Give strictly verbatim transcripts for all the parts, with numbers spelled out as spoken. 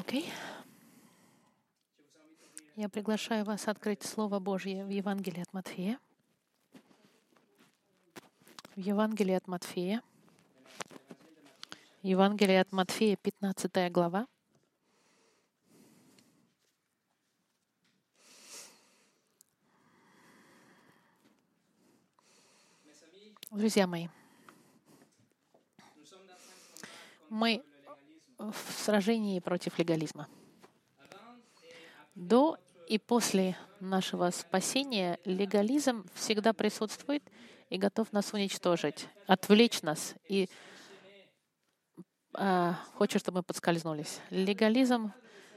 Окей. Я приглашаю вас открыть Слово Божье в Евангелии от Матфея. В Евангелии от Матфея. Евангелие от Матфея, пятнадцатая глава. Друзья мои, мы в сражении против легализма. До и после нашего спасения легализм всегда присутствует и готов нас уничтожить, отвлечь нас и а, хочет, чтобы мы подскользнулись. Легализм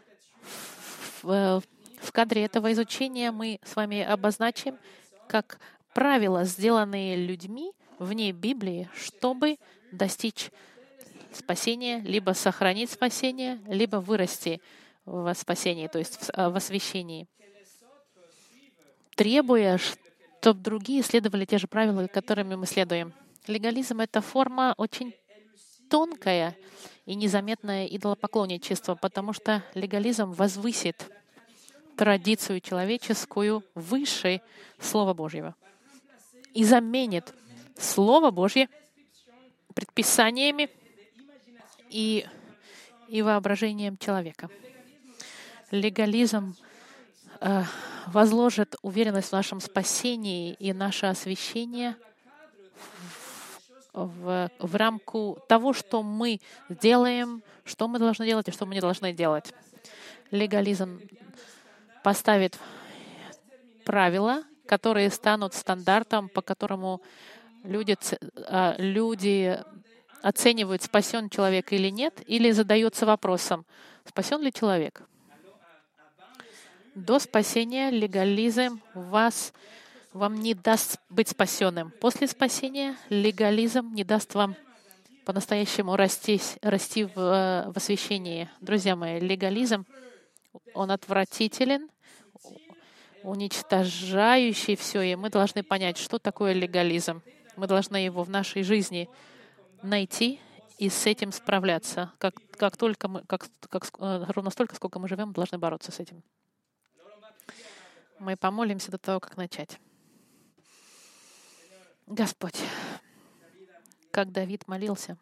в, в кадре этого изучения мы с вами обозначим как правила, сделанные людьми вне Библии, чтобы достичь спасения, либо сохранить спасение, либо вырасти в спасении, то есть в освящении, требуя, чтобы другие следовали те же правила, которыми мы следуем. Легализм — это форма очень тонкая и незаметное идолопоклонничество, потому что легализм возвысит традицию человеческую выше Слова Божьего и заменит Слово Божье предписаниями и, и воображением человека. Легализм э, возложит уверенность в нашем спасении и наше освящение в, в рамку того, что мы делаем, что мы должны делать и что мы не должны делать. Легализм поставит правила, которые станут стандартом, по которому люди, люди оценивают, спасен человек или нет, или задаются вопросом, спасен ли человек. До спасения легализм вас, вам не даст быть спасенным. После спасения легализм не даст вам по-настоящему расти, расти в, в освящении. Друзья мои, легализм, он отвратителен, уничтожающий все, и мы должны понять, что такое легализм. Мы должны его в нашей жизни найти и с этим справляться. Как, как только мы, как, как, ровно столько, сколько мы живем, мы должны бороться с этим. Мы помолимся до того, как начать. Господь, как Давид молился,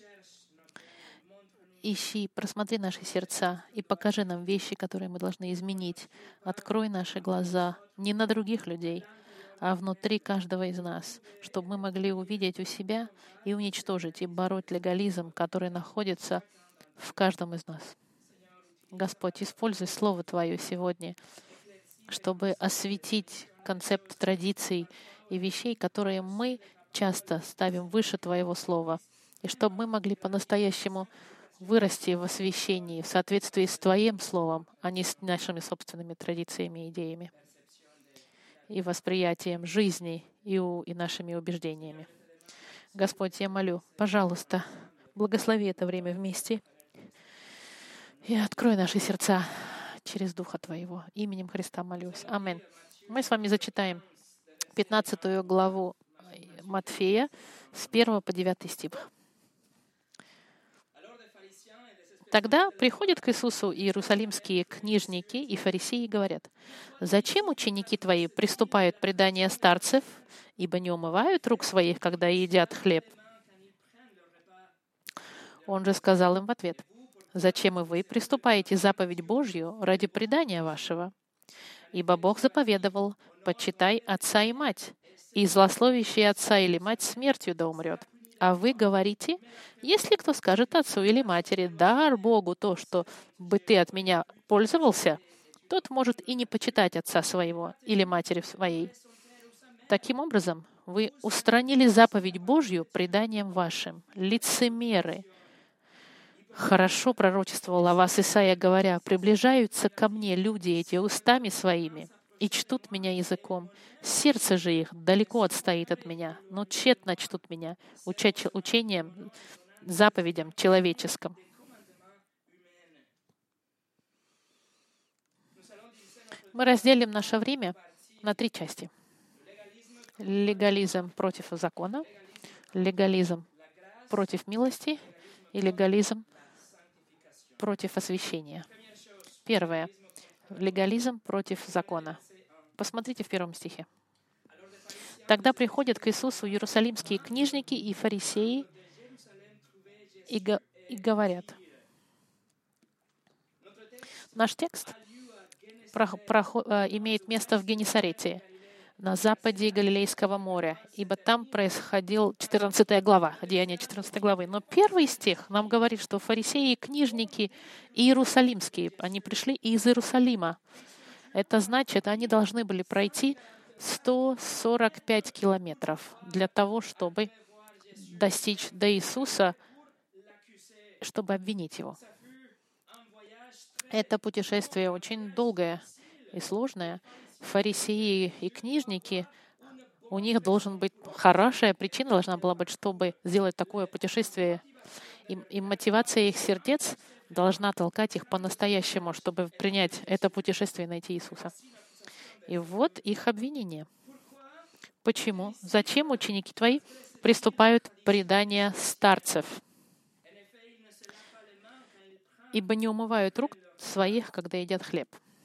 ищи, просмотри наши сердца и покажи нам вещи, которые мы должны изменить. Открой наши глаза не на других людей, а внутри каждого из нас, чтобы мы могли увидеть у себя и уничтожить, и бороть легализм, который находится в каждом из нас. Господь, используй Слово Твое сегодня, чтобы осветить концепт традиций и вещей, которые мы часто ставим выше Твоего Слова, и чтобы мы могли по-настоящему вырасти в освящении в соответствии с Твоим Словом, а не с нашими собственными традициями и идеями и восприятием жизни и, у, и нашими убеждениями. Господь, я молю, пожалуйста, благослови это время вместе и открой наши сердца через Духа Твоего. Именем Христа молюсь. Аминь. Мы с вами зачитаем пятнадцатую главу Матфея с первого по девятый стих. Тогда приходят к Иисусу иерусалимские книжники и фарисеи и говорят: «Зачем ученики Твои приступают к преданию старцев, ибо не умывают рук своих, когда едят хлеб?» Он же сказал им в ответ: «Зачем и вы приступаете заповедь Божью ради предания вашего? Ибо Бог заповедовал: почитай отца и мать, и злословящий отца или мать смертью да умрет. А вы говорите: если кто скажет отцу или матери: дар Богу то, что бы ты от меня пользовался, тот может и не почитать отца своего или матери своей. Таким образом, вы устранили заповедь Божью преданием вашим. Лицемеры!» Хорошо пророчествовал о вас Исаия, говоря: «Приближаются ко мне люди эти устами своими и чтут меня языком. Сердце же их далеко отстоит от меня, но тщетно чтут меня, уча учением, заповедям человеческим». Мы разделим наше время на три части. Легализм против закона, легализм против милости и легализм против освящения. Первое. Легализм против закона. Посмотрите в первом стихе. «Тогда приходят к Иисусу иерусалимские книжники и фарисеи и, го- и говорят». Наш текст прох- прохо- э, имеет место в Генесарете, на западе Галилейского моря, ибо там происходил четырнадцатая глава, Деяния четырнадцатой главы. Но первый стих нам говорит, что фарисеи и книжники иерусалимские, они пришли из Иерусалима. Это значит, они должны были пройти сто сорок пять километров для того, чтобы достичь до Иисуса, чтобы обвинить Его. Это путешествие очень долгое и сложное. Фарисеи и книжники, у них должен быть хорошая причина, должна была быть, чтобы сделать такое путешествие. И, и мотивация их сердец должна толкать их по-настоящему, чтобы принять это путешествие и найти Иисуса. И вот их обвинение. Почему? Зачем ученики твои приступают к преданию старцев? Ибо не умывают рук своих, когда едят хлеб.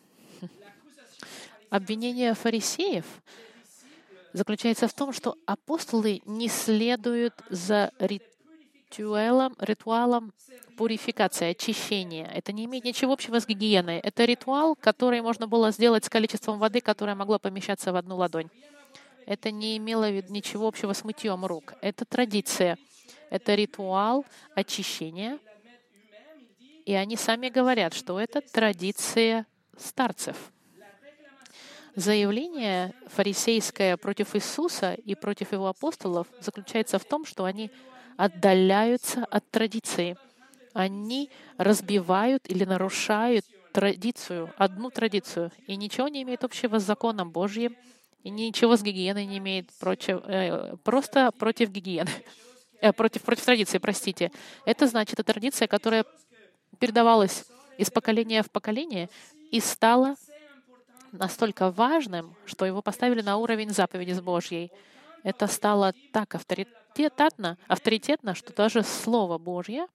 Обвинение фарисеев заключается в том, что апостолы не следуют за ритуалом, ритуалом пурификации, очищения. Это не имеет ничего общего с гигиеной. Это ритуал, который можно было сделать с количеством воды, которое могло помещаться в одну ладонь. Это не имело ничего общего с мытьем рук. Это традиция. Это ритуал очищения. И они сами говорят, что это традиция старцев. Заявление фарисейское против Иисуса и против Его апостолов заключается в том, что они отдаляются от традиции. Они разбивают или нарушают традицию, одну традицию, и ничего не имеет общего с законом Божьим, и ничего с гигиеной не имеет, против, э, просто против гигиены, э, против, против традиции, простите. Это значит, это традиция, которая передавалась из поколения в поколение и стала настолько важным, что его поставили на уровень заповеди с Божьей. Это стало так авторитетно, авторитетно, что даже Слово Божье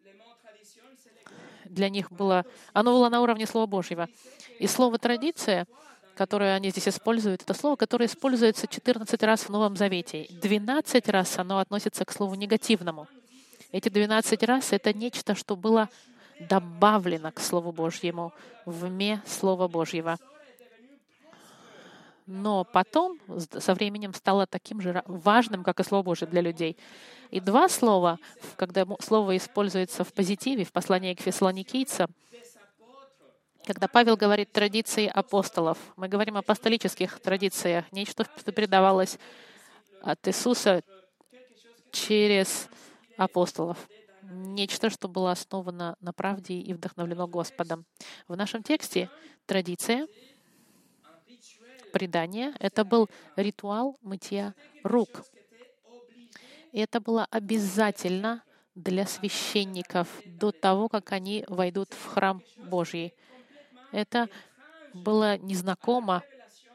для них было, оно было на уровне Слова Божьего. И слово «традиция», которое они здесь используют, это слово, которое используется четырнадцать раз в Новом Завете. двенадцать раз оно относится к слову негативному. Эти двенадцать раз — это нечто, что было добавлено к Слову Божьему, вне Слова Божьего. Но потом, со временем, стало таким же важным, как и Слово Божье для людей. И два слова, когда слово используется в позитиве, в послании к фессалоникийцам, когда Павел говорит «традиции апостолов», мы говорим о апостолических традициях, нечто, что передавалось от Иисуса через апостолов. Нечто, что было основано на правде и вдохновлено Господом. В нашем тексте традиция, предание — это был ритуал мытья рук. И это было обязательно для священников до того, как они войдут в храм Божий. Это было незнакомо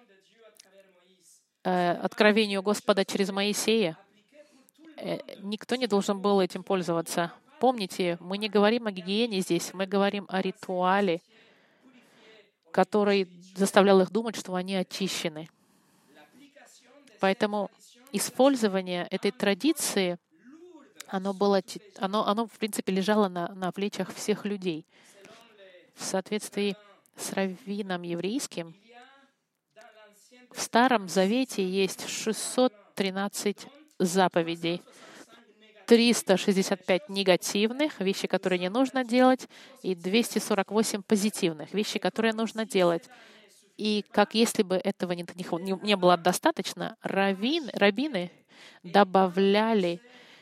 э, откровению Господа через Моисея. Э, никто не должен был этим пользоваться. Помните, мы не говорим о гигиене здесь, мы говорим о ритуале, который заставлял их думать, что они очищены. Поэтому использование этой традиции, оно, было, оно, оно в принципе, лежало на, на плечах всех людей. В соответствии с раввином еврейским, в Старом Завете есть шестьсот тринадцать заповедей, триста шестьдесят пять негативных, вещи, которые не нужно делать, и двести сорок восемь позитивных, вещи, которые нужно делать. И как если бы этого не, не, не было достаточно, раввин, раввины добавляли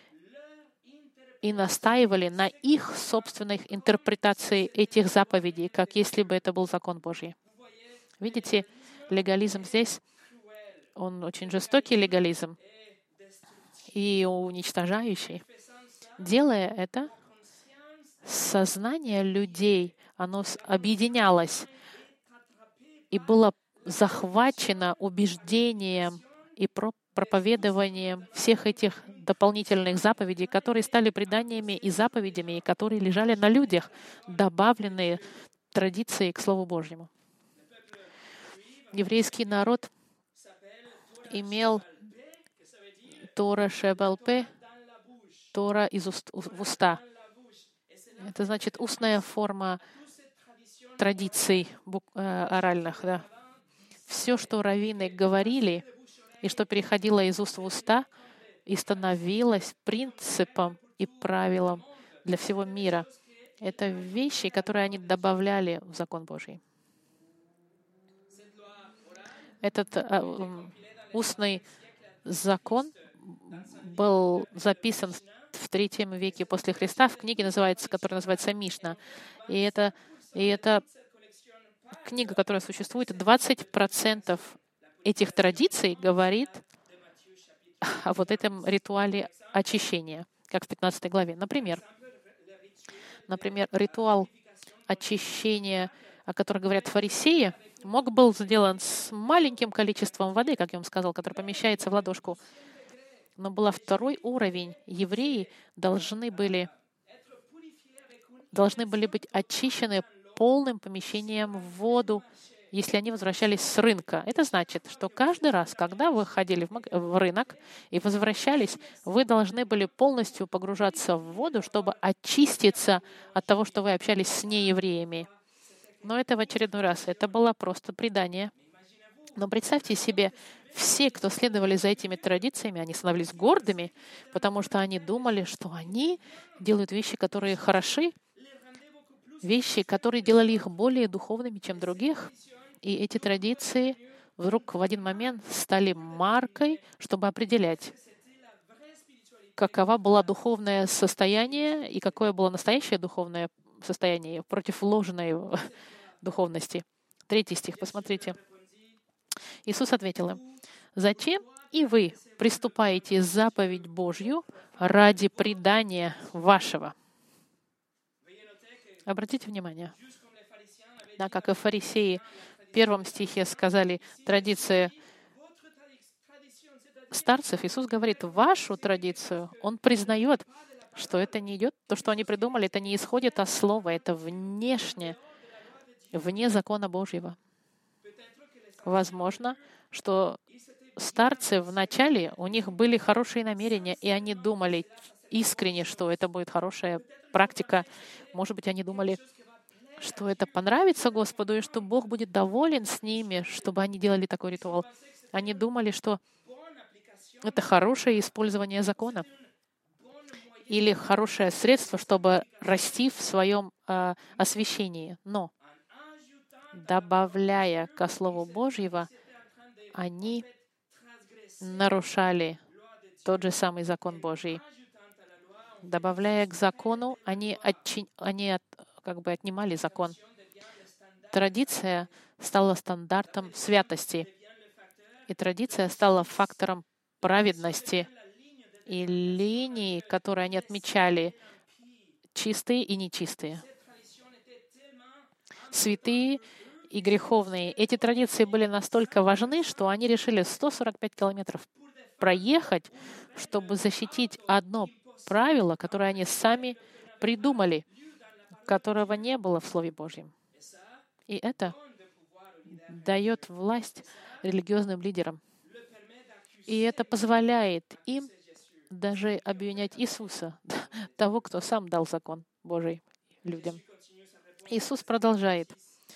и настаивали на их собственных интерпретации этих заповедей, как если бы это был закон Божий. Видите, легализм здесь, он очень жестокий легализм и уничтожающий. Делая это, сознание людей, оно объединялось и было захвачено убеждением и проповедованием всех этих дополнительных заповедей, которые стали преданиями и заповедями, и которые лежали на людях, добавленные традиции к Слову Божьему. Еврейский народ имел Тора Шебалпе, Тора из уст, в уста. Это значит устная форма традиций э, оральных. Да. Все, что раввины говорили, и что переходило из уст в уста, и становилось принципом и правилом для всего мира. Это вещи, которые они добавляли в закон Божий. Этот э, устный закон был записан в третьем веке после Христа в книге, называется, которая называется Мишна. И это, и это книга, которая существует, двадцать процентов этих традиций говорит о вот этом ритуале очищения, как в пятнадцатой главе. Например, например, ритуал очищения, о котором говорят фарисеи, мог был сделан с маленьким количеством воды, как я вам сказал, который помещается в ладошку. Но был второй уровень. Евреи должны были, должны были быть очищены полным помещением в воду, если они возвращались с рынка. Это значит, что каждый раз, когда вы ходили в, маг... в рынок и возвращались, вы должны были полностью погружаться в воду, чтобы очиститься от того, что вы общались с неевреями. Но это в очередной раз. Это было просто предание. Но представьте себе, все, кто следовали за этими традициями, они становились гордыми, потому что они думали, что они делают вещи, которые хороши, вещи, которые делали их более духовными, чем других. И эти традиции вдруг в один момент стали маркой, чтобы определять, каково было духовное состояние и какое было настоящее духовное состояние против ложной духовности. Третий стих, посмотрите. Иисус ответил им: «Зачем и вы приступаете заповедь Божью ради предания вашего?» Обратите внимание, да, как и фарисеи в первом стихе сказали, традиция старцев, Иисус говорит, вашу традицию, Он признает, что это не идет, то, что они придумали, это не исходит от слова, это внешне, вне закона Божьего. Возможно, что старцы вначале, у них были хорошие намерения, и они думали искренне, что это будет хорошая практика. Может быть, они думали, что это понравится Господу, и что Бог будет доволен с ними, чтобы они делали такой ритуал. Они думали, что это хорошее использование закона или хорошее средство, чтобы расти в своем э, освящении. Но, добавляя ко Слову Божьего, они нарушали тот же самый закон Божий. Добавляя к закону, они, отчи... они от... как бы отнимали закон. Традиция стала стандартом святости, и традиция стала фактором праведности. И линии, которые они отмечали, чистые и нечистые, святые и греховные. Эти традиции были настолько важны, что они решили сто сорок пять километров проехать, чтобы защитить одно правило, которое они сами придумали, которого не было в Слове Божьем. И это дает власть религиозным лидерам. И это позволяет им даже обвинять Иисуса, того, кто сам дал закон Божий людям. Иисус продолжает.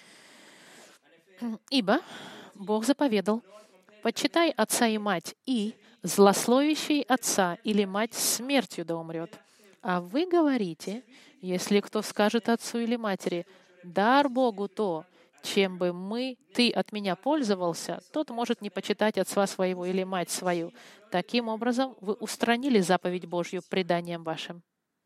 «Ибо Бог заповедал, почитай отца и мать, и злословящий отца или мать смертью да умрет. А вы говорите, если кто скажет отцу или матери, дар Богу то, чем бы мы, ты от меня пользовался, тот может не почитать отца своего или мать свою. Таким образом, вы устранили заповедь Божью преданием вашим».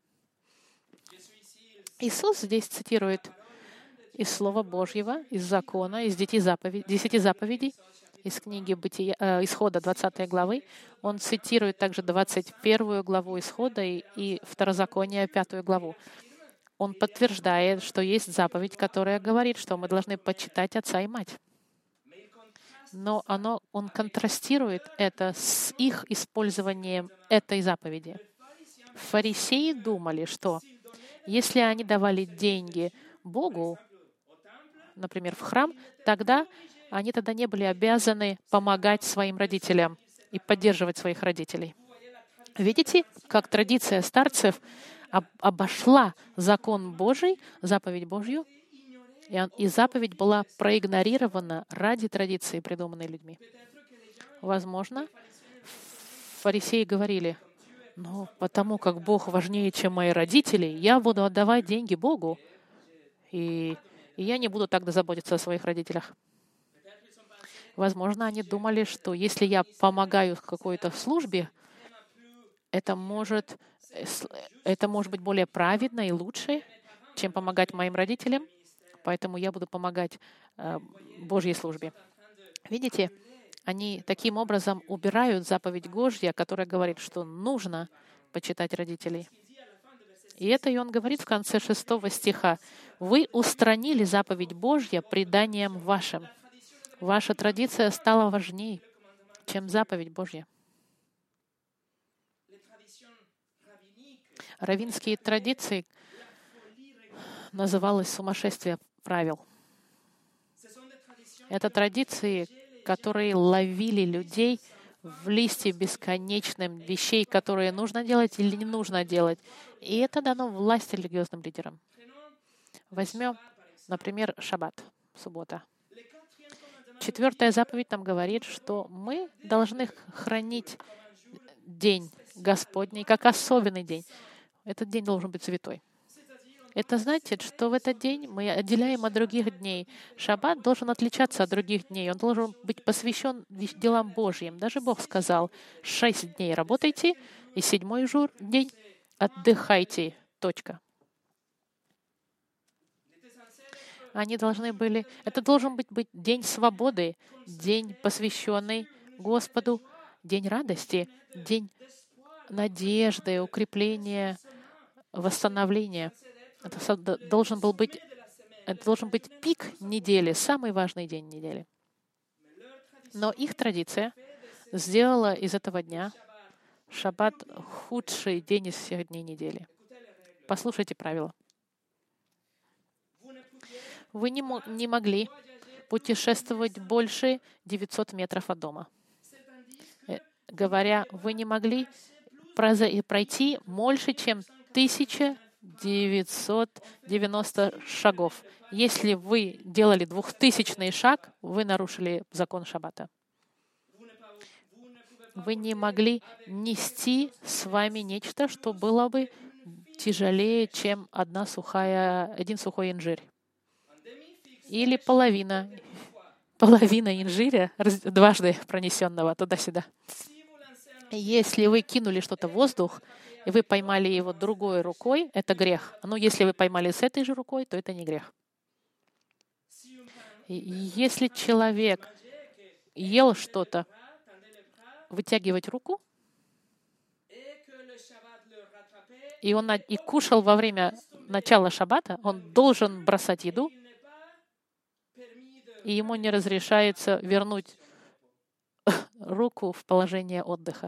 Иисус здесь цитирует из Слова Божьего, из закона, из десяти заповедей, десяти заповедей, из книги Бытия, э, Исхода двадцатой главы. Он цитирует также двадцать первую главу Исхода и, и Второзаконие пятую главу. Он подтверждает, что есть заповедь, которая говорит, что мы должны почитать отца и мать. Но оно, он контрастирует это с их использованием этой заповеди. Фарисеи думали, что если они давали деньги Богу, например, в храм, тогда они тогда не были обязаны помогать своим родителям и поддерживать своих родителей. Видите, как традиция старцев об- обошла закон Божий, заповедь Божью, и, он- и заповедь была проигнорирована ради традиции, придуманной людьми. Возможно, фарисеи говорили: ну, потому как Бог важнее, чем мои родители, я буду отдавать деньги Богу, и, и я не буду тогда заботиться о своих родителях. Возможно, они думали, что если я помогаю в какой-то службе, это может, э, с- это может быть более праведно и лучше, чем помогать моим родителям, поэтому я буду помогать э, Божьей службе. Видите, они таким образом убирают заповедь Божья, которая говорит, что нужно почитать родителей. И это и он говорит в конце шестого стиха. «Вы устранили заповедь Божья преданием вашим». Ваша традиция стала важнее, чем заповедь Божья. Раввинские традиции называлось сумасшествие правил. Это традиции, которые ловили людей в листе бесконечным вещей, которые нужно делать или не нужно делать. И это дано власть религиозным лидерам. Возьмем, например, шаббат, суббота. Четвертая заповедь нам говорит, что мы должны хранить день Господний как особенный день. Этот день должен быть святой. Это значит, что в этот день мы отделяем от других дней. Шаббат должен отличаться от других дней. Он должен быть посвящен делам Божьим. Даже Бог сказал: шесть дней работайте, и седьмой жур, день отдыхайте. Точка. Они должны были... Это должен быть, быть день свободы, день, посвященный Господу, день радости, день надежды, укрепления, восстановления. Это должен был быть, это должен быть пик недели, самый важный день недели. Но их традиция сделала из этого дня шаббат худший день из всех дней недели. Послушайте правила. Вы не, мо- не могли путешествовать больше девятисот метров от дома. Э, Говоря, вы не могли проза- пройти больше, чем тысяча девятьсот девяносто шагов. Если вы делали двухтысячный шаг, вы нарушили закон шаббата. Вы не могли нести с вами нечто, что было бы тяжелее, чем одна сухая, один сухой инжирь. Или половина, половина инжиря, раз- дважды пронесенного туда-сюда. Если вы кинули что-то в воздух, и вы поймали его другой рукой, это грех. Но если вы поймали с этой же рукой, то это не грех. И если человек ел что-то, вытягивать руку, и он на- и кушал во время начала шаббата, он должен бросать еду, и ему не разрешается вернуть руку в положение отдыха.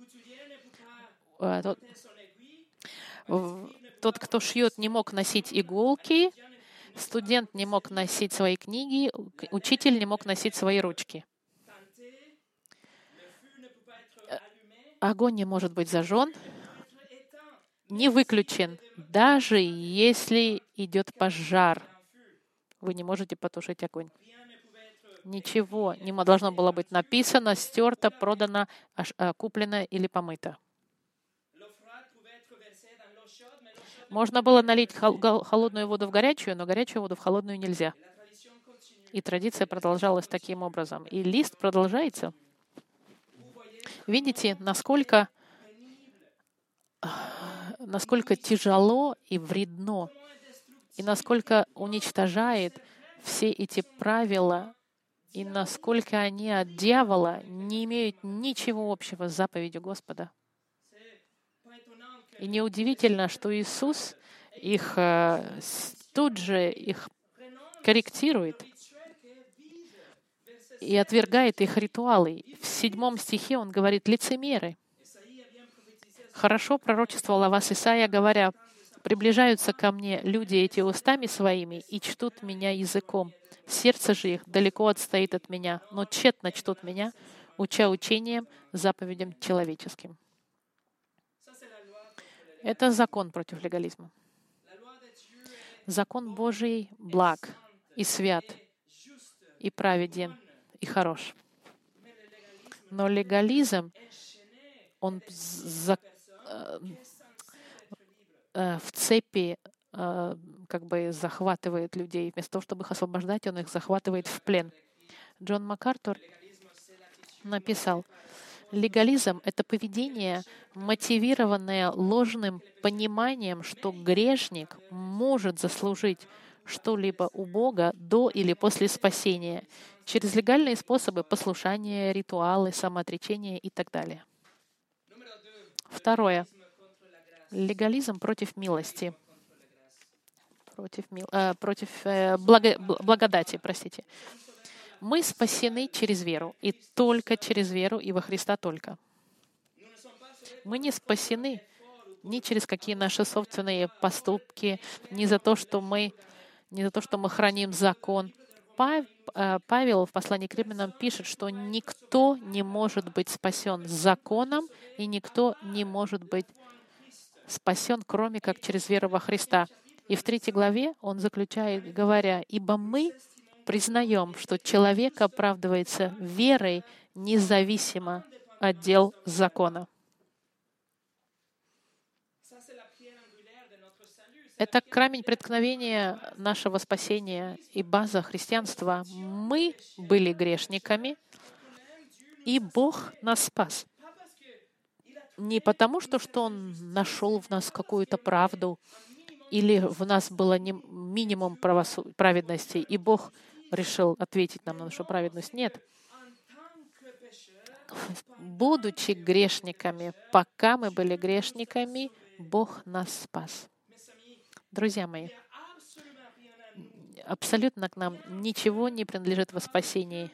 А, Тот, в- тот, кто шьет, не мог носить иголки, студент не мог носить свои книги, к- учитель не мог носить свои ручки. Огонь не может быть зажжен, не выключен, даже если идет пожар. Вы не можете потушить огонь. Ничего не мо- должно было быть написано, стерто, продано, аж- а, куплено или помыто. Можно было налить хол- гол- холодную воду в горячую, но горячую воду в холодную нельзя. И традиция продолжалась таким образом. И лист продолжается. Видите, насколько, насколько тяжело и вредно, и насколько уничтожает все эти правила, и насколько они от дьявола не имеют ничего общего с заповедью Господа. И неудивительно, что Иисус их э, с- тут же их корректирует и отвергает их ритуалы. В седьмом стихе он говорит: лицемеры. Хорошо пророчествовал о вас Исаия, говоря: Приближаются ко мне люди эти устами своими и чтут меня языком. Сердце же их далеко отстоит от меня, но тщетно чтут меня, уча учением, заповедям человеческим. Это закон против легализма. Закон Божий благ и свят, и праведен, и хорош. Но легализм, он за, э, э, в цепи э, как бы захватывает людей. Вместо того, чтобы их освобождать, он их захватывает в плен. Джон МакАртур написал, легализм — это поведение, мотивированное ложным пониманием, что грешник может заслужить что-либо у Бога до или после спасения через легальные способы послушания, ритуалы, самоотречения и так далее. Второе. Легализм против милости. Против, мил, э, против э, благо, благодати, простите. Мы спасены через веру, и только через веру, и во Христа только. Мы не спасены ни через какие наши собственные поступки, ни за то, что мы, ни за то, что мы храним закон. Павел в послании к Римлянам пишет, что никто не может быть спасен законом, и никто не может быть спасен, кроме как через веру во Христа. И в третьей главе он заключает, говоря, «Ибо мы признаем, что человек оправдывается верой независимо от дел закона». Это камень преткновения нашего спасения и база христианства. Мы были грешниками, и Бог нас спас. Не потому, что, что Он нашел в нас какую-то правду, или в нас было минимум праведности, и Бог решил ответить нам на нашу праведность. Нет. Будучи грешниками, пока мы были грешниками, Бог нас спас. Друзья мои, абсолютно к нам ничего не принадлежит во спасении.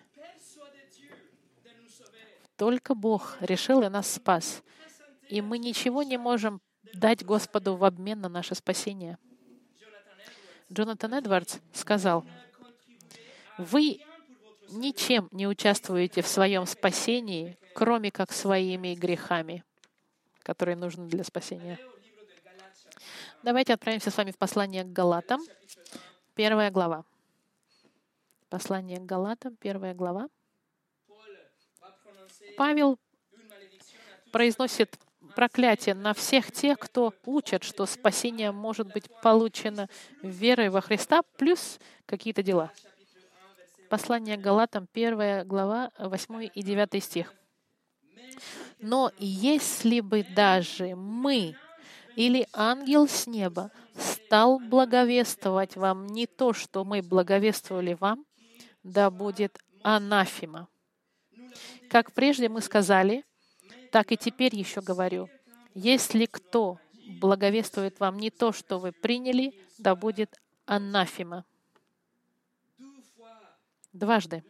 Только Бог решил и нас спас. И мы ничего не можем дать Господу в обмен на наше спасение. Джонатан Эдвардс сказал, «Вы ничем не участвуете в своем спасении, кроме как своими грехами, которые нужны для спасения». Давайте отправимся с вами в послание к Галатам, первая глава. Послание к Галатам, первая глава. Павел произносит проклятие на всех тех, кто учат, что спасение может быть получено верой во Христа, плюс какие-то дела. Послание к Галатам, первая глава, восьмой и девятый стих. «Но если бы даже мы или ангел с неба стал благовествовать вам не то, что мы благовествовали вам, да будет анафема. Как прежде мы сказали, так и теперь еще говорю, если кто благовествует вам не то, что вы приняли, да будет анафема». Дважды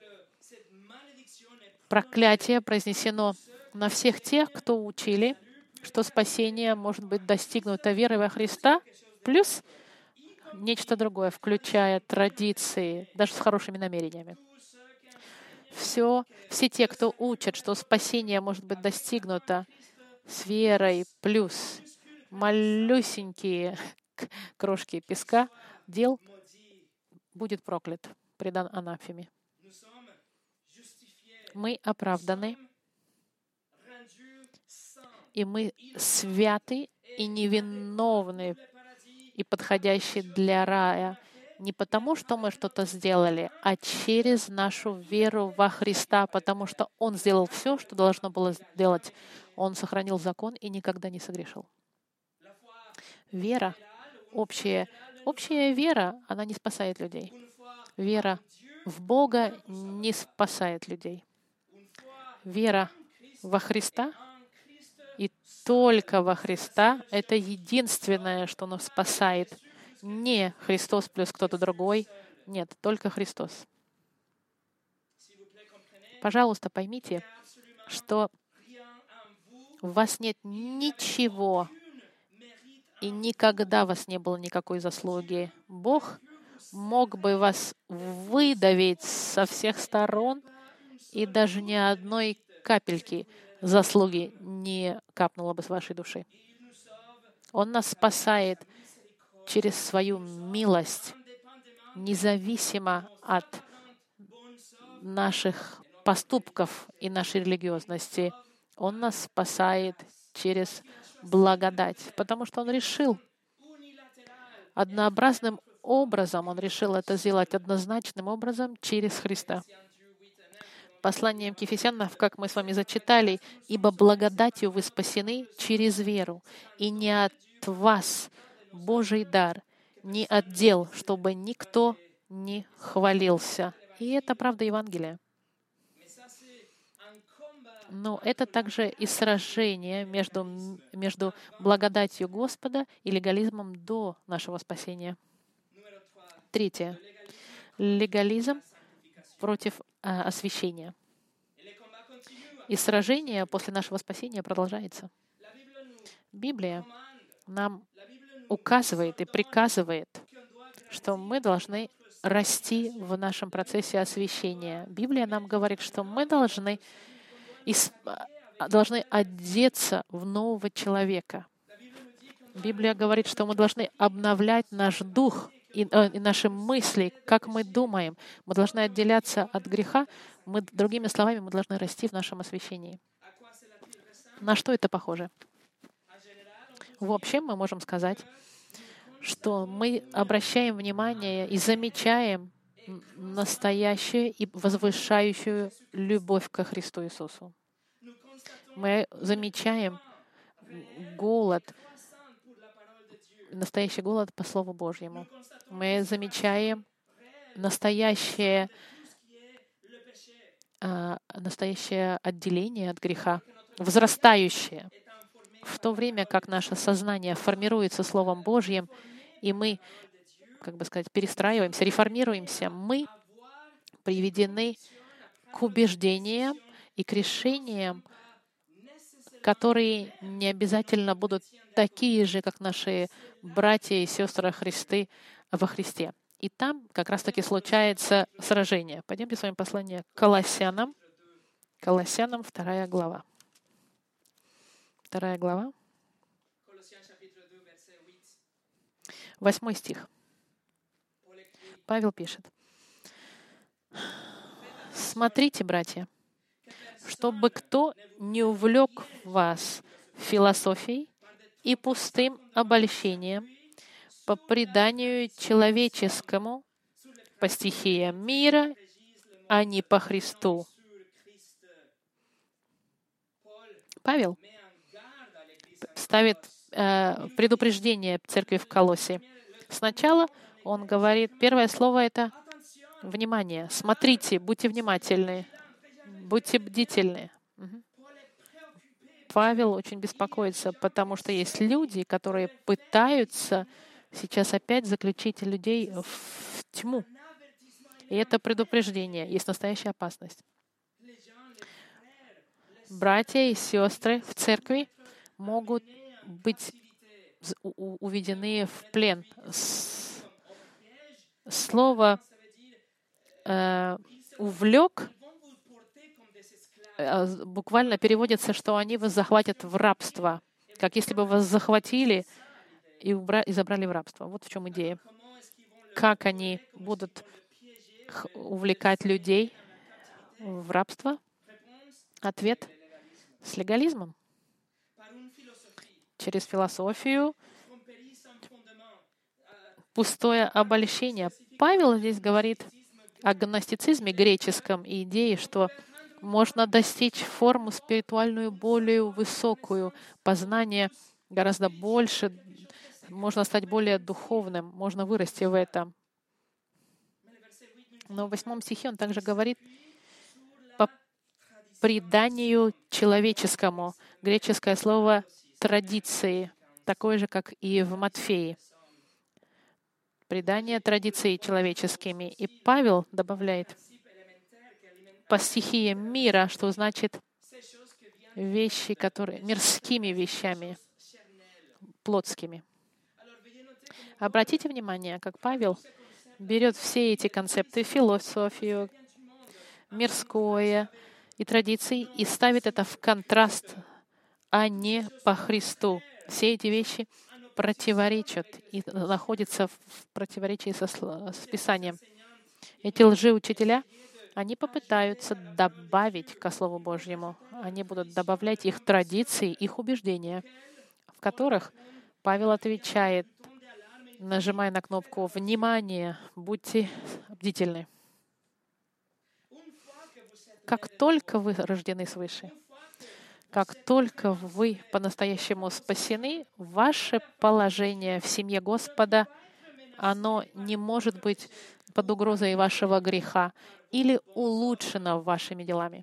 проклятие произнесено на всех тех, кто учили, что спасение может быть достигнуто верой во Христа, плюс нечто другое, включая традиции, даже с хорошими намерениями. Все, все те, кто учат, что спасение может быть достигнуто с верой, плюс малюсенькие крошки песка дел, будет проклят, предан анафеме. Мы оправданы, и мы святы и невиновны и подходящие для рая не потому, что мы что-то сделали, а через нашу веру во Христа, потому что Он сделал все, что должно было сделать. Он сохранил закон и никогда не согрешил. Вера, общая, общая вера, она не спасает людей. Вера в Бога не спасает людей. Вера во Христа и только во Христа — это единственное, что нас спасает. Не Христос плюс кто-то другой. Нет, только Христос. Пожалуйста, поймите, что у вас нет ничего, и никогда у вас не было никакой заслуги. Бог мог бы вас выдавить со всех сторон, и даже ни одной капельки заслуги не капнуло бы с вашей души. Он нас спасает через свою милость, независимо от наших поступков и нашей религиозности. Он нас спасает через благодать, потому что Он решил однообразным образом, Он решил это сделать однозначным образом через Христа. Посланием к Ефесянам, как мы с вами зачитали, «Ибо благодатью вы спасены через веру, и не от вас Божий дар, не от дел, чтобы никто не хвалился». И это правда Евангелия. Но это также и сражение между, между благодатью Господа и легализмом до нашего спасения. Третье. Легализм против а, освящения. И сражение после нашего спасения продолжается. Библия нам указывает и приказывает, что мы должны расти в нашем процессе освящения. Библия нам говорит, что мы должны, исп... должны одеться в нового человека. Библия говорит, что мы должны обновлять наш дух и, э, и наши мысли, как мы думаем. Мы должны отделяться от греха. Мы, другими словами, мы должны расти в нашем освящении. На что это похоже? В общем, мы можем сказать, что мы обращаем внимание и замечаем настоящую и возвышающую любовь ко Христу Иисусу. Мы замечаем голод, настоящий голод по Слову Божьему. Мы замечаем настоящее, а, настоящее отделение от греха, возрастающее. В то время как наше сознание формируется Словом Божьим, и мы, как бы сказать, перестраиваемся, реформируемся, мы приведены к убеждениям и к решениям, которые не обязательно будут такие же, как наши братья и сестры Христы во Христе. И там как раз-таки случается сражение. Пойдемте с вами послание к Колоссянам. Колоссянам, вторая глава. Вторая глава. Восьмой стих. Павел пишет. «Смотрите, братья, чтобы кто не увлек вас философией и пустым обольщением по преданию человеческому, по стихиям мира, а не по Христу». Павел ставит э, предупреждение церкви в Колоссе. Сначала он говорит, первое слово — это внимание. Смотрите, будьте внимательны, будьте бдительны. Угу. Павел очень беспокоится, потому что есть люди, которые пытаются сейчас опять заключить людей в тьму. И это предупреждение, есть настоящая опасность. Братья и сестры в церкви могут быть уведены в плен. Слово э, «увлек» э, буквально переводится, что они вас захватят в рабство, как если бы вас захватили и, убра- и забрали в рабство. Вот в чем идея. Как они будут увлекать людей в рабство? Ответ — с легализмом. Через философию, пустое обольщение. Павел здесь говорит о гностицизме греческом и идее, что можно достичь форму спиритуальную более высокую, познание гораздо больше, можно стать более духовным, можно вырасти в этом. Но в восьмом стихе он также говорит по преданию человеческому. Греческое слово «традиции», такое же, как и в Матфеи. Предание традиций человеческими. И Павел добавляет по стихиям мира, что значит вещи, которые мирскими вещами, плотскими. Обратите внимание, как Павел берет все эти концепты, философию, мирское и традиции, и ставит это в контраст, а не по Христу. Все эти вещи противоречат и находятся в противоречии со, с Писанием. Эти лжеучителя, они попытаются добавить ко Слову Божьему. Они будут добавлять их традиции, их убеждения, в которых Павел отвечает, нажимая на кнопку «Внимание! Будьте бдительны». Как только вы рождены свыше, как только вы по-настоящему спасены, ваше положение в семье Господа, оно не может быть под угрозой вашего греха или улучшено вашими делами.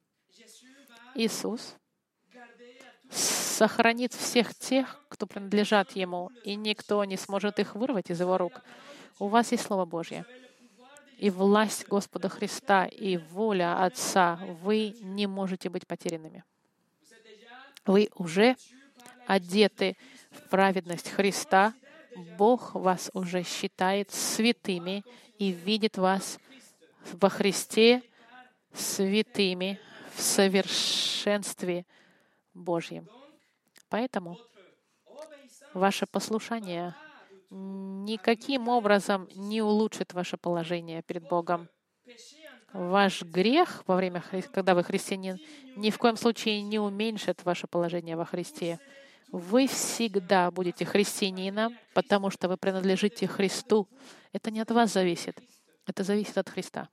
Иисус сохранит всех тех, кто принадлежат Ему, и никто не сможет их вырвать из Его рук. У вас есть Слово Божье. И власть Господа Христа, и воля Отца. Вы не можете быть потерянными. Вы уже одеты в праведность Христа. Бог вас уже считает святыми и видит вас во Христе святыми в совершенстве Божьем. Поэтому ваше послушание никаким образом не улучшит ваше положение перед Богом. Ваш грех во время, когда вы христианин, ни в коем случае не уменьшит ваше положение во Христе. Вы всегда будете христианином, потому что вы принадлежите Христу. Это не от вас зависит. Это зависит от Христа.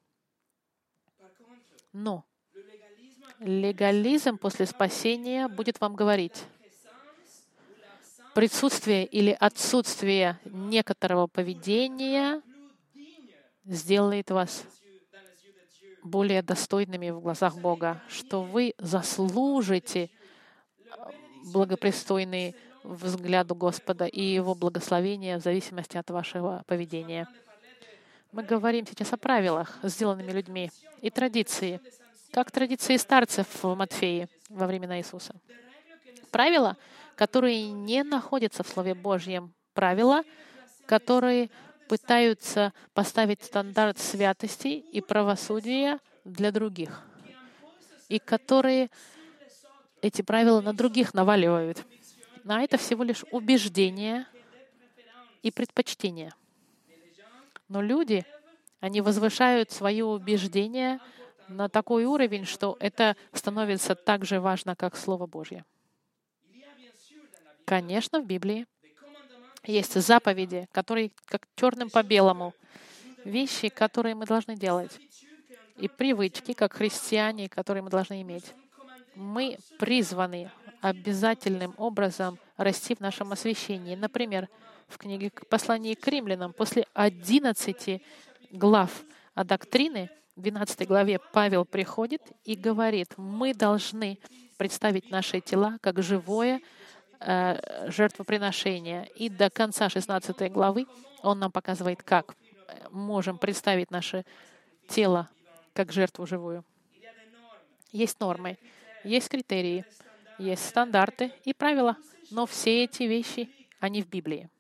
Но легализм после спасения будет вам говорить, присутствие или отсутствие некоторого поведения сделает вас более достойными в глазах Бога, что вы заслужите благопристойный взгляду Господа и Его благословения в зависимости от вашего поведения. Мы говорим сейчас о правилах, сделанными людьми, и традиции, как традиции старцев в Матфеи во времена Иисуса. Правила, которые не находятся в Слове Божьем, правила, которые пытаются поставить стандарт святости и правосудия для других, и которые эти правила на других наваливают. А это всего лишь убеждения и предпочтения. Но люди, они возвышают свои убеждения на такой уровень, что это становится так же важно, как Слово Божье. Конечно, в Библии есть заповеди, которые как черным по белому, вещи, которые мы должны делать, и привычки, как христиане, которые мы должны иметь. Мы призваны обязательным образом расти в нашем освящении. Например, в книге «Послание к римлянам» после одиннадцати глав о доктрине, в двенадцатой главе Павел приходит и говорит, мы должны представить наши тела как живое э, жертвоприношение. И до конца шестнадцатой главы он нам показывает, как можем представить наше тело как жертву живую. Есть нормы, есть критерии, есть стандарты и правила, но все эти вещи, они в Библии.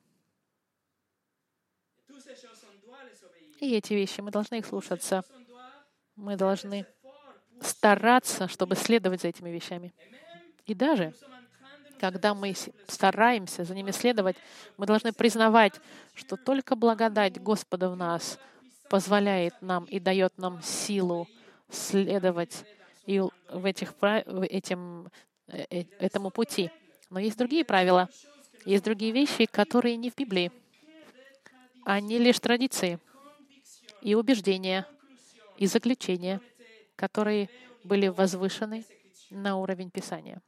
И эти вещи, мы должны их слушаться. Мы должны стараться, чтобы следовать за этими вещами. И даже, когда мы стараемся за ними следовать, мы должны признавать, что только благодать Господа в нас позволяет нам и дает нам силу следовать и в этих, в этим, этому пути. Но есть другие правила, есть другие вещи, которые не в Библии. Они лишь традиции и убеждения, и заключения, которые были возвышены на уровень Писания.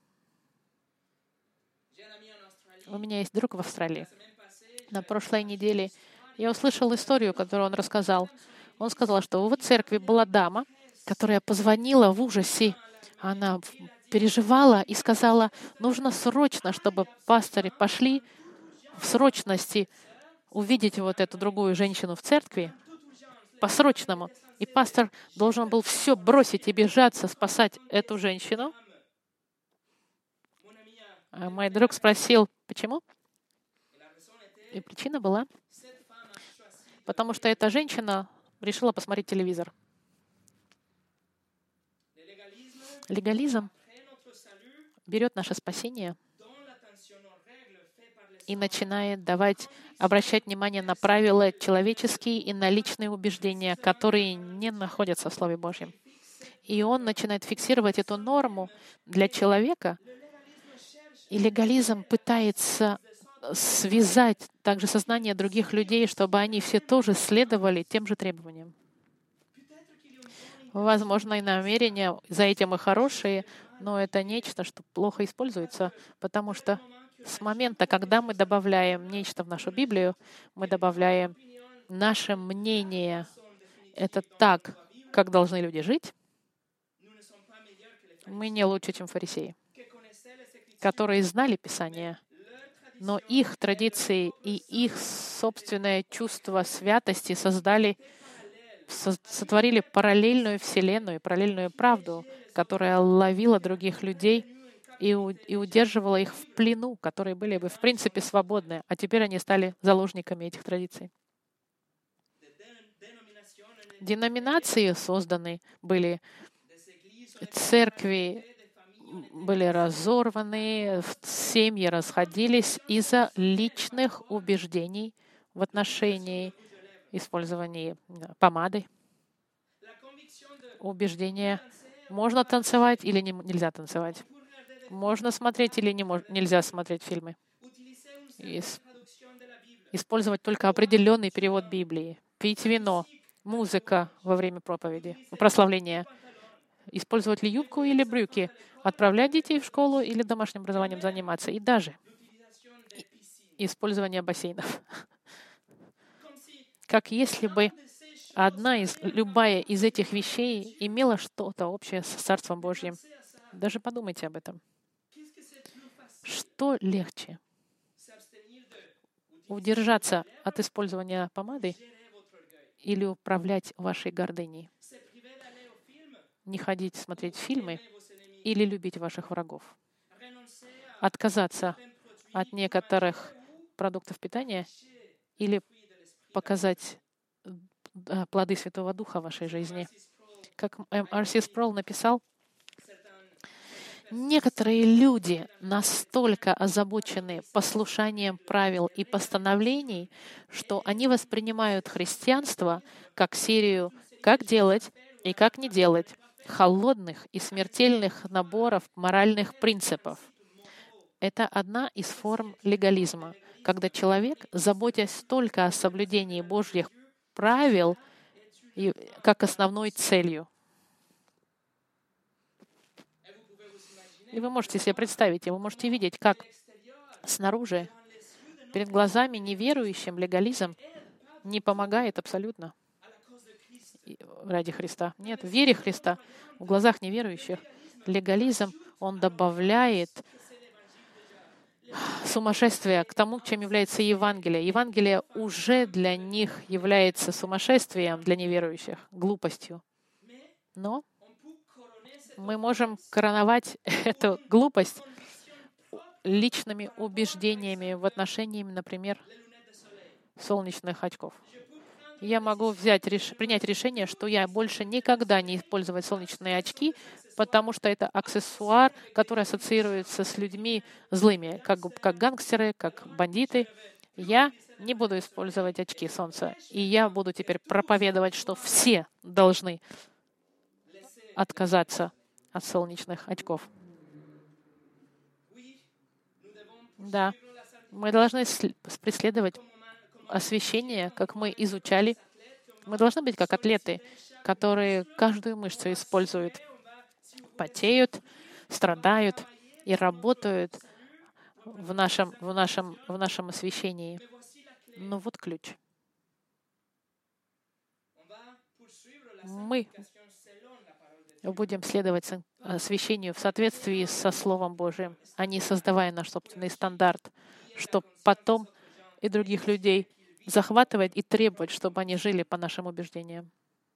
У меня есть друг в Австралии. На прошлой неделе я услышал историю, которую он рассказал. Он сказал, что в его церкви была дама, которая позвонила в ужасе. Она переживала и сказала, нужно срочно, чтобы пасторы пошли в срочности увидеть вот эту другую женщину в церкви, по-срочному. И пастор должен был все бросить и бежаться, спасать эту женщину. А мой друг спросил, почему? И причина была, потому что эта женщина решила посмотреть телевизор. Легализм берет наше спасение и начинает давать, обращать внимание на правила человеческие и на личные убеждения, которые не находятся в Слове Божьем. И он начинает фиксировать эту норму для человека, и легализм пытается связать также сознание других людей, чтобы они все тоже следовали тем же требованиям. Возможно, и намерения за этим и хорошие, но это нечто, что плохо используется, потому что с момента, когда мы добавляем нечто в нашу Библию, мы добавляем наше мнение. Это так, как должны люди жить. Мы не лучше, чем фарисеи, которые знали Писание, но их традиции и их собственное чувство святости создали, сотворили параллельную вселенную, параллельную правду, которая ловила других людей и, и удерживала их в плену, которые были бы в принципе свободны, а теперь они стали заложниками этих традиций. Деноминации созданы были, церкви были разорваны, семьи расходились из-за личных убеждений в отношении использования помады. Убеждения: можно танцевать или не, нельзя танцевать. Можно смотреть или не мож, нельзя смотреть фильмы. Ис, использовать только определенный перевод Библии. Пить вино, музыка во время проповеди, прославления. Использовать ли юбку или брюки, отправлять детей в школу или домашним образованием заниматься, и даже использование бассейнов. Как если бы одна из, любая из этих вещей имела что-то общее с Царством Божьим. Даже подумайте об этом. Что легче? Удержаться от использования помады или управлять вашей гордыней? Не ходить смотреть фильмы или любить ваших врагов? Отказаться от некоторых продуктов питания или показать плоды Святого Духа в вашей жизни? Как Ар Си Спроул написал, некоторые люди настолько озабочены послушанием правил и постановлений, что они воспринимают христианство как серию «как делать» и «как не делать», холодных и смертельных наборов моральных принципов. Это одна из форм легализма, когда человек, заботясь только о соблюдении Божьих правил, как основной целью. И вы можете себе представить, и вы можете видеть, как снаружи, перед глазами неверующим, легализм не помогает абсолютно ради Христа. Нет, в вере Христа, в глазах неверующих, легализм, он добавляет сумасшествие к тому, чем является Евангелие. Евангелие уже для них является сумасшествием, для неверующих, глупостью. Но мы можем короновать эту глупость личными убеждениями в отношении, например, солнечных очков. Я могу взять, реш... принять решение, что я больше никогда не использовать солнечные очки, потому что это аксессуар, который ассоциируется с людьми злыми, как, как гангстеры, как бандиты. Я не буду использовать очки солнца. И я буду теперь проповедовать, что все должны отказаться от солнечных очков. Да, мы должны преследовать освящение, как мы изучали. Мы должны быть как атлеты, которые каждую мышцу используют, потеют, страдают и работают в нашем, в нашем, в нашем освящении. Но вот ключ. Мы будем следовать освящению в соответствии со Словом Божиим, а не создавая наш собственный стандарт, чтобы потом и других людей захватывать и требовать, чтобы они жили по нашим убеждениям.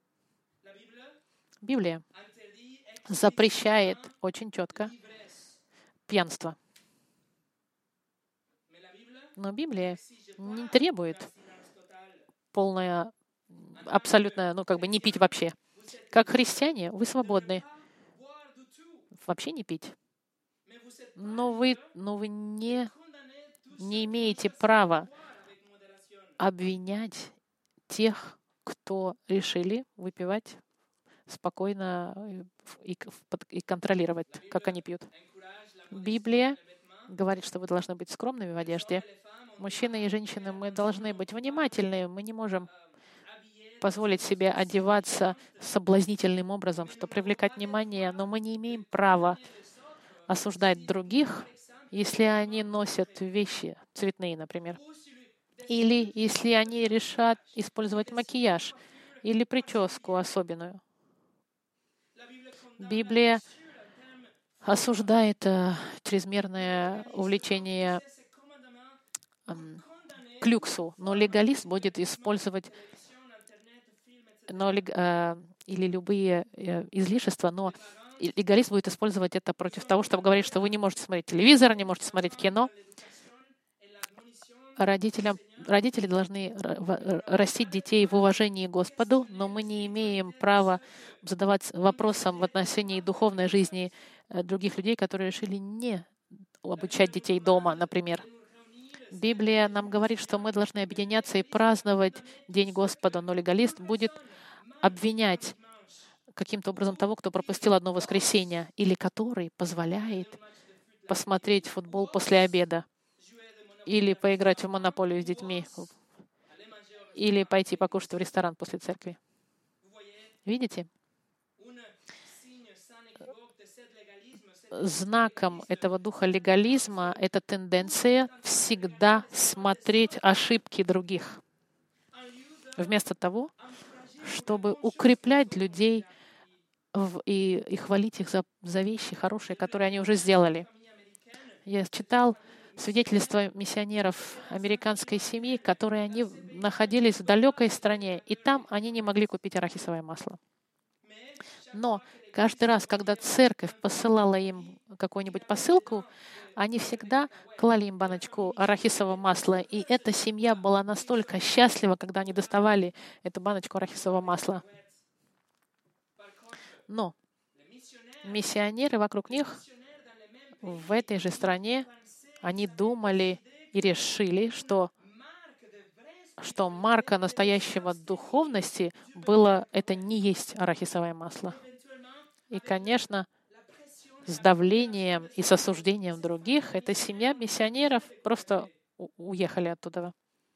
Библия запрещает очень четко пьянство. Но Библия не требует полное, абсолютно, ну, как бы не пить вообще. Как христиане, вы свободны вообще не пить. Но вы, но вы не, не имеете права обвинять тех, кто решили выпивать спокойно и, и контролировать, как они пьют. Библия говорит, что вы должны быть скромными в одежде. Мужчины и женщины, мы должны быть внимательны. Мы не можем позволить себе одеваться соблазнительным образом, чтобы привлекать внимание, но мы не имеем права осуждать других, если они носят вещи цветные, например, или если они решат использовать макияж или прическу особенную. Библия осуждает э, чрезмерное увлечение э, к люксу, но легалист будет использовать но, э, или любые э, излишества, но легалист будет использовать это против того, чтобы говорить, что вы не можете смотреть телевизор, не можете смотреть кино. Родителям, родители должны растить детей в уважении к Господу, но мы не имеем права задавать вопросам в отношении духовной жизни других людей, которые решили не обучать детей дома, например. Библия нам говорит, что мы должны объединяться и праздновать День Господа, но легалист будет обвинять каким-то образом того, кто пропустил одно воскресенье, или который позволяет посмотреть футбол после обеда, или поиграть в монополию с детьми, или пойти покушать в ресторан после церкви. Видите? Знаком этого духа легализма — это тенденция всегда смотреть ошибки других, вместо того, чтобы укреплять людей в, и, и хвалить их за, за вещи хорошие, которые они уже сделали. Я читал свидетельства миссионеров американской семьи, которые они находились в далекой стране, и там они не могли купить арахисовое масло. Но каждый раз, когда церковь посылала им какую-нибудь посылку, они всегда клали им баночку арахисового масла, и эта семья была настолько счастлива, когда они доставали эту баночку арахисового масла. Но миссионеры вокруг них в этой же стране, они думали и решили, что, что марка настоящего духовности было это не есть арахисовое масло. И, конечно, с давлением и с осуждением других эта семья миссионеров просто уехали оттуда.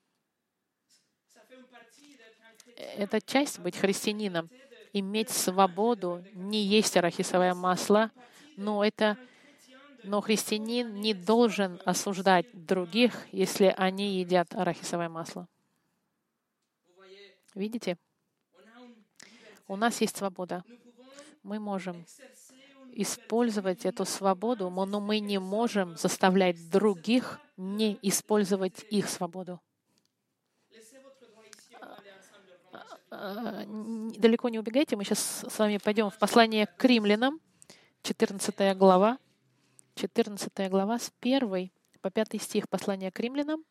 Это часть быть христианином, иметь свободу, не есть арахисовое масло, но это Но христианин не должен осуждать других, если они едят арахисовое масло. Видите? У нас есть свобода. Мы можем использовать эту свободу, но мы не можем заставлять других не использовать их свободу. Далеко не убегайте, мы сейчас с вами пойдем в послание к римлянам, четырнадцатая глава. четырнадцатая глава, с первой по пятый стих послания к римлянам.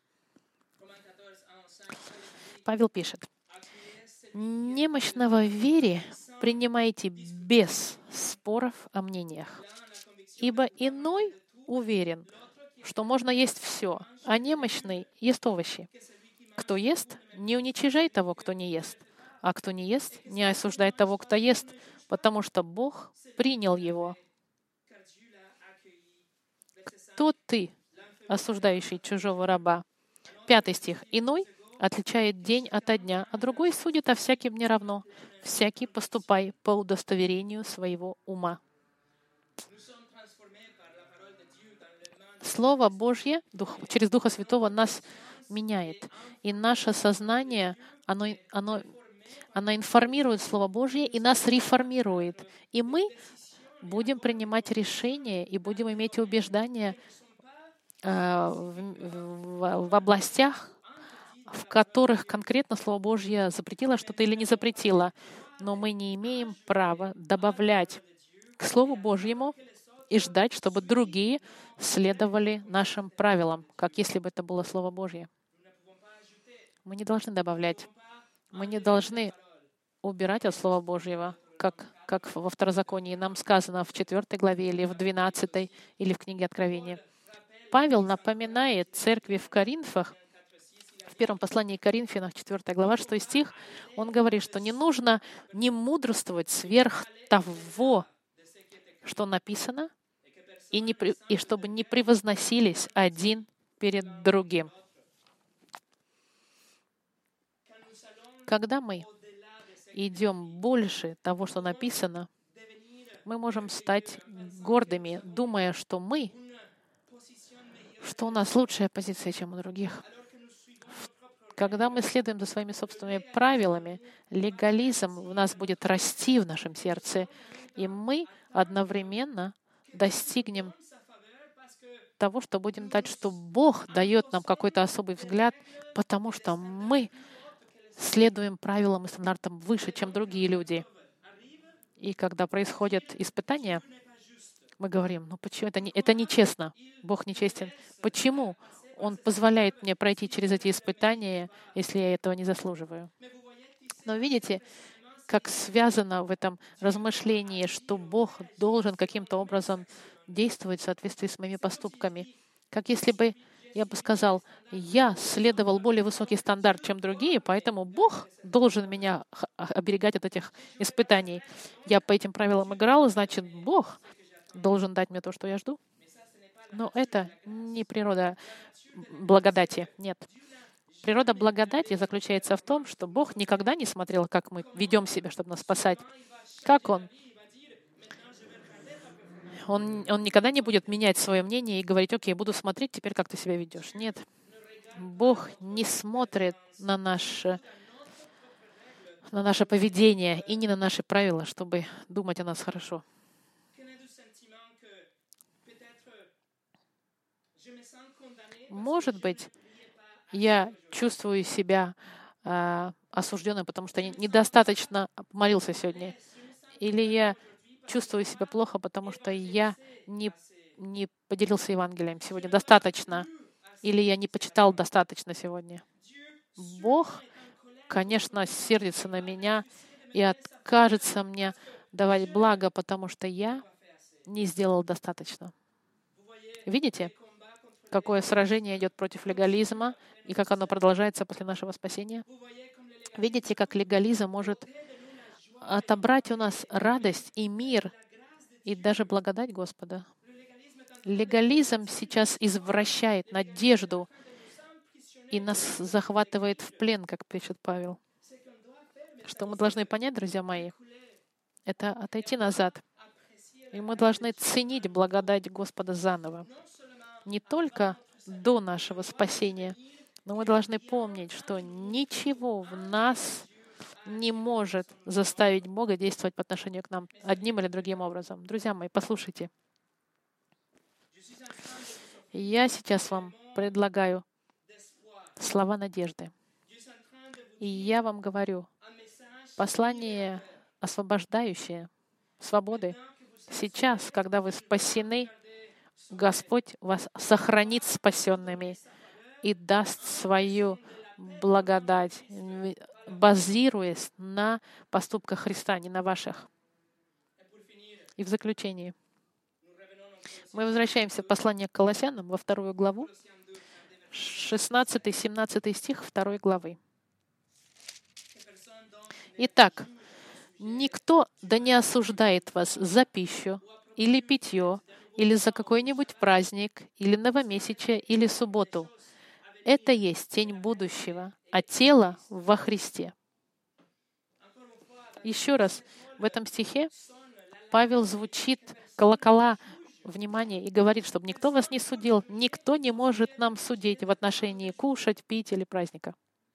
Павел пишет: «Немощного в вере принимайте без споров о мнениях, ибо иной уверен, что можно есть все, а немощный ест овощи. Кто ест, не уничижай того, кто не ест, а кто не ест, не осуждай того, кто ест, потому что Бог принял его. Кто ты, осуждающий чужого раба?» Пятый стих. «Иной отличает день ото дня, а другой судит о всяким неравно. Всякий поступай по удостоверению своего ума». Слово Божье Дух, через Духа Святого нас меняет. И наше сознание, оно, оно, оно информирует Слово Божье и нас реформирует. И мы будем принимать решения и будем иметь убеждения э, в, в, в областях, в которых конкретно Слово Божье запретило что-то или не запретило. Но мы не имеем права добавлять к Слову Божьему и ждать, чтобы другие следовали нашим правилам, как если бы это было Слово Божье. Мы не должны добавлять. Мы не должны убирать от Слова Божьего, как, как во Второзаконии нам сказано в четвёртой главе или в двенадцатой, или в книге Откровения. Павел напоминает церкви в Коринфах, в первом послании к Коринфянам, четвёртая глава, шестой стих, он говорит, что не нужно не мудрствовать сверх того, что написано, и, не, при- и чтобы не превозносились один перед другим. Когда мы идем больше того, что написано, мы можем стать гордыми, думая, что мы, что у нас лучшая позиция, чем у других. Когда мы следуем за своими собственными правилами, легализм в нас будет расти в нашем сердце, и мы одновременно достигнем того, что будем дать, что Бог дает нам какой-то особый взгляд, потому что мы следуем правилам и стандартам выше, чем другие люди. И когда происходят испытания, мы говорим, ну почему это, не, это нечестно, Бог нечестен. Почему Он позволяет мне пройти через эти испытания, если я этого не заслуживаю? Но видите, как связано в этом размышлении, что Бог должен каким-то образом действовать в соответствии с моими поступками. Как если бы я бы сказал, я следовал более высокий стандарт, чем другие, поэтому Бог должен меня х- оберегать от этих испытаний. Я по этим правилам играл, значит, Бог должен дать мне то, что я жду. Но это не природа благодати, нет. Природа благодати заключается в том, что Бог никогда не смотрел, как мы ведем себя, чтобы нас спасать. Как Он? Он, он никогда не будет менять свое мнение и говорить, окей, буду смотреть теперь, как ты себя ведешь. Нет. Бог не смотрит на наше, на наше поведение и не на наши правила, чтобы думать о нас хорошо. Может быть, я чувствую себя э, осужденным, потому что я недостаточно молился сегодня. Или я чувствую себя плохо, потому что я не, не поделился Евангелием сегодня достаточно. Или я не почитал достаточно сегодня. Бог, конечно, сердится на меня и откажется мне давать благо, потому что я не сделал достаточно. Видите, какое сражение идет против легализма и как оно продолжается после нашего спасения? Видите, как легализм может отобрать у нас радость и мир, и даже благодать Господа. Легализм сейчас извращает надежду и нас захватывает в плен, как пишет Павел. Что мы должны понять, друзья мои, это отойти назад. И мы должны ценить благодать Господа заново. Не только до нашего спасения, но мы должны помнить, что ничего в нас не может заставить Бога действовать по отношению к нам одним или другим образом. Друзья мои, послушайте. Я сейчас вам предлагаю слова надежды. И я вам говорю, послание освобождающее, свободы. Сейчас, когда вы спасены, Господь вас сохранит спасенными и даст свою благодать, базируясь на поступках Христа, не на ваших. И в заключение. Мы возвращаемся в послание к Колоссянам во вторую главу, шестнадцатый-семнадцатый стих второй главы. Итак, никто да не осуждает вас за пищу или питье, или за какой-нибудь праздник, или новомесячие, или субботу. Это есть тень будущего, а тело во Христе. Еще раз, в этом стихе Павел звучит колокола внимания и говорит, чтобы никто вас не судил, никто не может нам судить в отношении кушать, пить или праздника.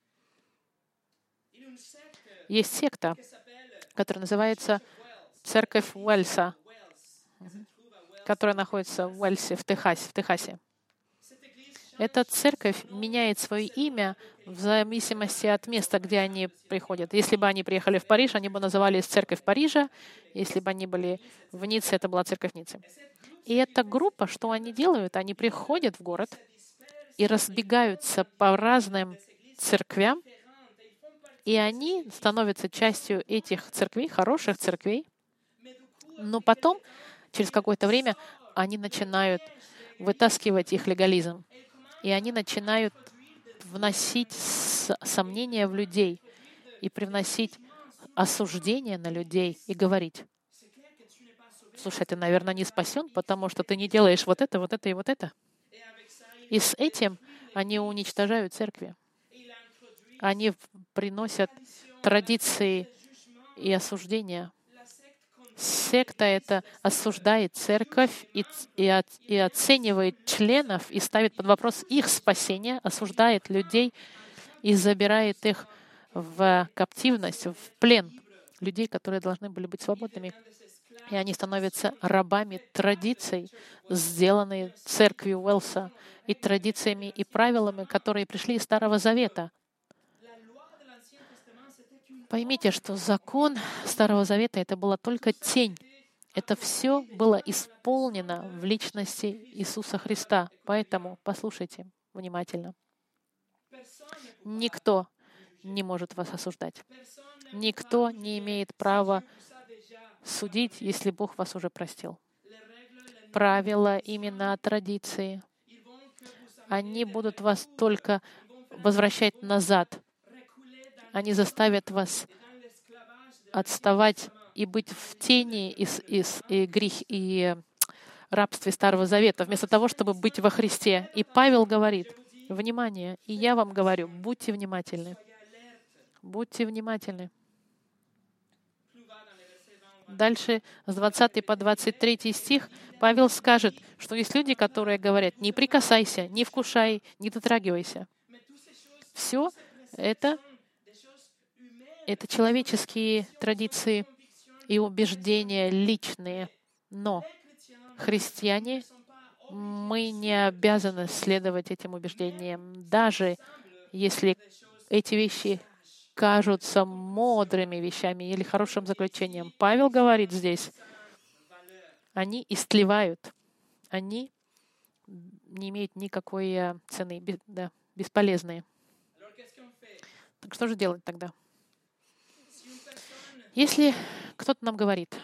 Есть секта, которая называется Церковь Уэльса, которая находится в Уэльсе, в Техасе. В Техасе. Эта церковь меняет свое имя в зависимости от места, где они приходят. Если бы они приехали в Париж, они бы назывались Церковь Парижа. Если бы они были в Ницце, это была Церковь Ниццы. И эта группа, что они делают? Они приходят в город и разбегаются по разным церквям, и они становятся частью этих церквей, хороших церквей. Но потом, через какое-то время, они начинают вытаскивать их легализм. И они начинают вносить сомнения в людей и привносить осуждение на людей и говорить: слушай, ты, наверное, не спасен, потому что ты не делаешь вот это, вот это и вот это. И с этим они уничтожают церкви. Они приносят традиции и осуждения. Секта это осуждает церковь и, и, от, и оценивает членов и ставит под вопрос их спасение, осуждает людей и забирает их в каптивность, в плен. Людей, которые должны были быть свободными. И они становятся рабами традиций, сделанных церковью Уэлса, и традициями и правилами, которые пришли из Старого Завета. Поймите, что закон Старого Завета — это была только тень. Это все было исполнено в личности Иисуса Христа. Поэтому послушайте внимательно. Никто не может вас осуждать. Никто не имеет права судить, если Бог вас уже простил. Правила, имена, традиции, они будут вас только возвращать назад. Они заставят вас отставать и быть в тени и, и, и грех и рабстве Старого Завета, вместо того, чтобы быть во Христе. И Павел говорит: внимание, и я вам говорю, будьте внимательны. Будьте внимательны. Дальше, с двадцатого по двадцать третий стих, Павел скажет, что есть люди, которые говорят: не прикасайся, не вкушай, не дотрагивайся. Все это Это человеческие традиции и убеждения личные. Но христиане, мы не обязаны следовать этим убеждениям, даже если эти вещи кажутся мудрыми вещами или хорошим заключением. Павел говорит здесь, они истлевают, они не имеют никакой цены, да, бесполезные. Так что же делать тогда? Если кто-то нам говорит: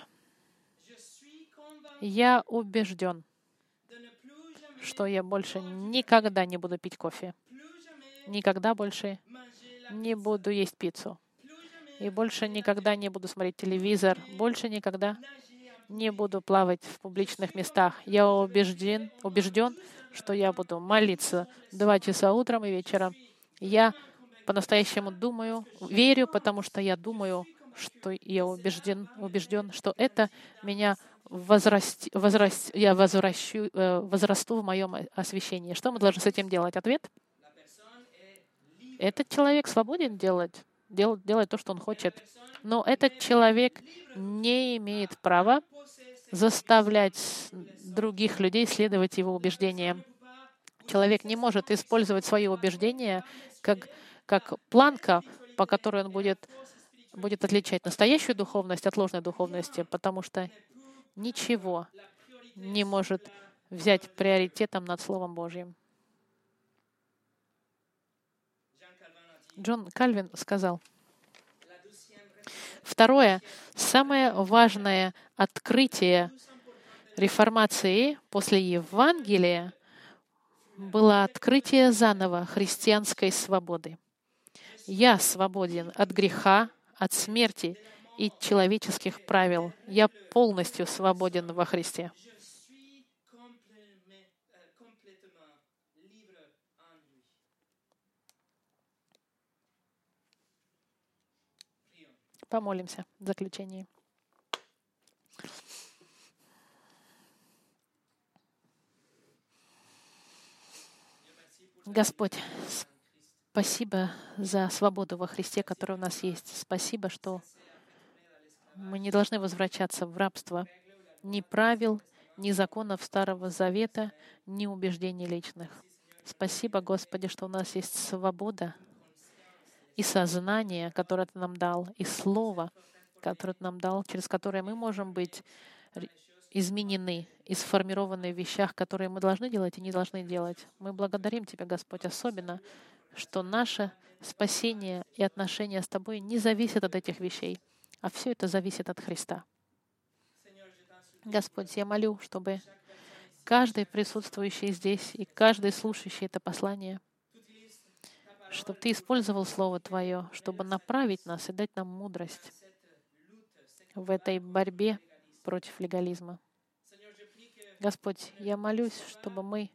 я убежден, что я больше никогда не буду пить кофе, никогда больше не буду есть пиццу, и больше никогда не буду смотреть телевизор, больше никогда не буду плавать в публичных местах. Я убежден, убежден, что я буду молиться два часа утром и вечером. Я по-настоящему думаю, верю, потому что я думаю, что я убежден, убежден, что это меня возраст, возраст, я возвращу, возрасту в моем освящении. Что мы должны с этим делать? Ответ: этот человек свободен делать, делать, делать то, что он хочет. Но этот человек не имеет права заставлять других людей следовать его убеждениям. Человек не может использовать свои убеждения как, как планка, по которой он будет будет отличать настоящую духовность от ложной духовности, потому что ничего не может взять приоритетом над Словом Божьим. Джон Кальвин сказал: второе, самое важное открытие реформации после Евангелия было открытие заново христианской свободы. Я свободен от греха, от смерти и человеческих правил. Я полностью свободен во Христе. Помолимся в заключении. Господь, спасибо за свободу во Христе, которая у нас есть. Спасибо, что мы не должны возвращаться в рабство ни правил, ни законов Старого Завета, ни убеждений личных. Спасибо, Господи, что у нас есть свобода и сознание, которое Ты нам дал, и Слово, которое Ты нам дал, через которое мы можем быть р- изменены и сформированы в вещах, которые мы должны делать и не должны делать. Мы благодарим Тебя, Господь, особенно, что наше спасение и отношения с Тобой не зависят от этих вещей, а все это зависит от Христа. Господь, я молю, чтобы каждый присутствующий здесь и каждый слушающий это послание, чтобы Ты использовал Слово Твое, чтобы направить нас и дать нам мудрость в этой борьбе против легализма. Господь, я молюсь, чтобы мы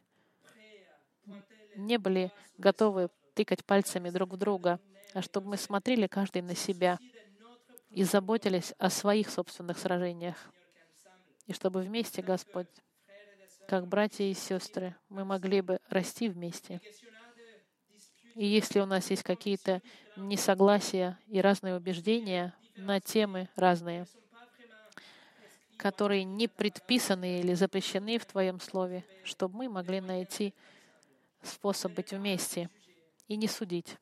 не были готовы тыкать пальцами друг в друга, а чтобы мы смотрели каждый на себя и заботились о своих собственных сражениях. И чтобы вместе, Господь, как братья и сестры, мы могли бы расти вместе. И если у нас есть какие-то несогласия и разные убеждения на темы разные, которые не предписаны или запрещены в Твоем Слове, чтобы мы могли найти способ быть вместе и не судить,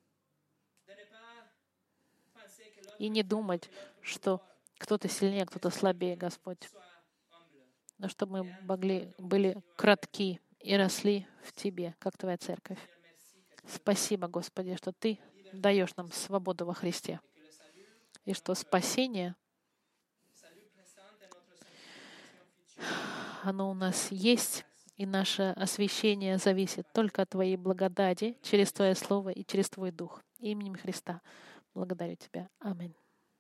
и не думать, что кто-то сильнее, кто-то слабее, Господь, но чтобы мы могли, были кратки и росли в Тебе, как Твоя церковь. Спасибо, Господи, что Ты даешь нам свободу во Христе, и что спасение, оно у нас есть, и наше освящение зависит только от Твоей благодати через Твое Слово и через Твой Дух. Именем Христа благодарю Тебя. Аминь.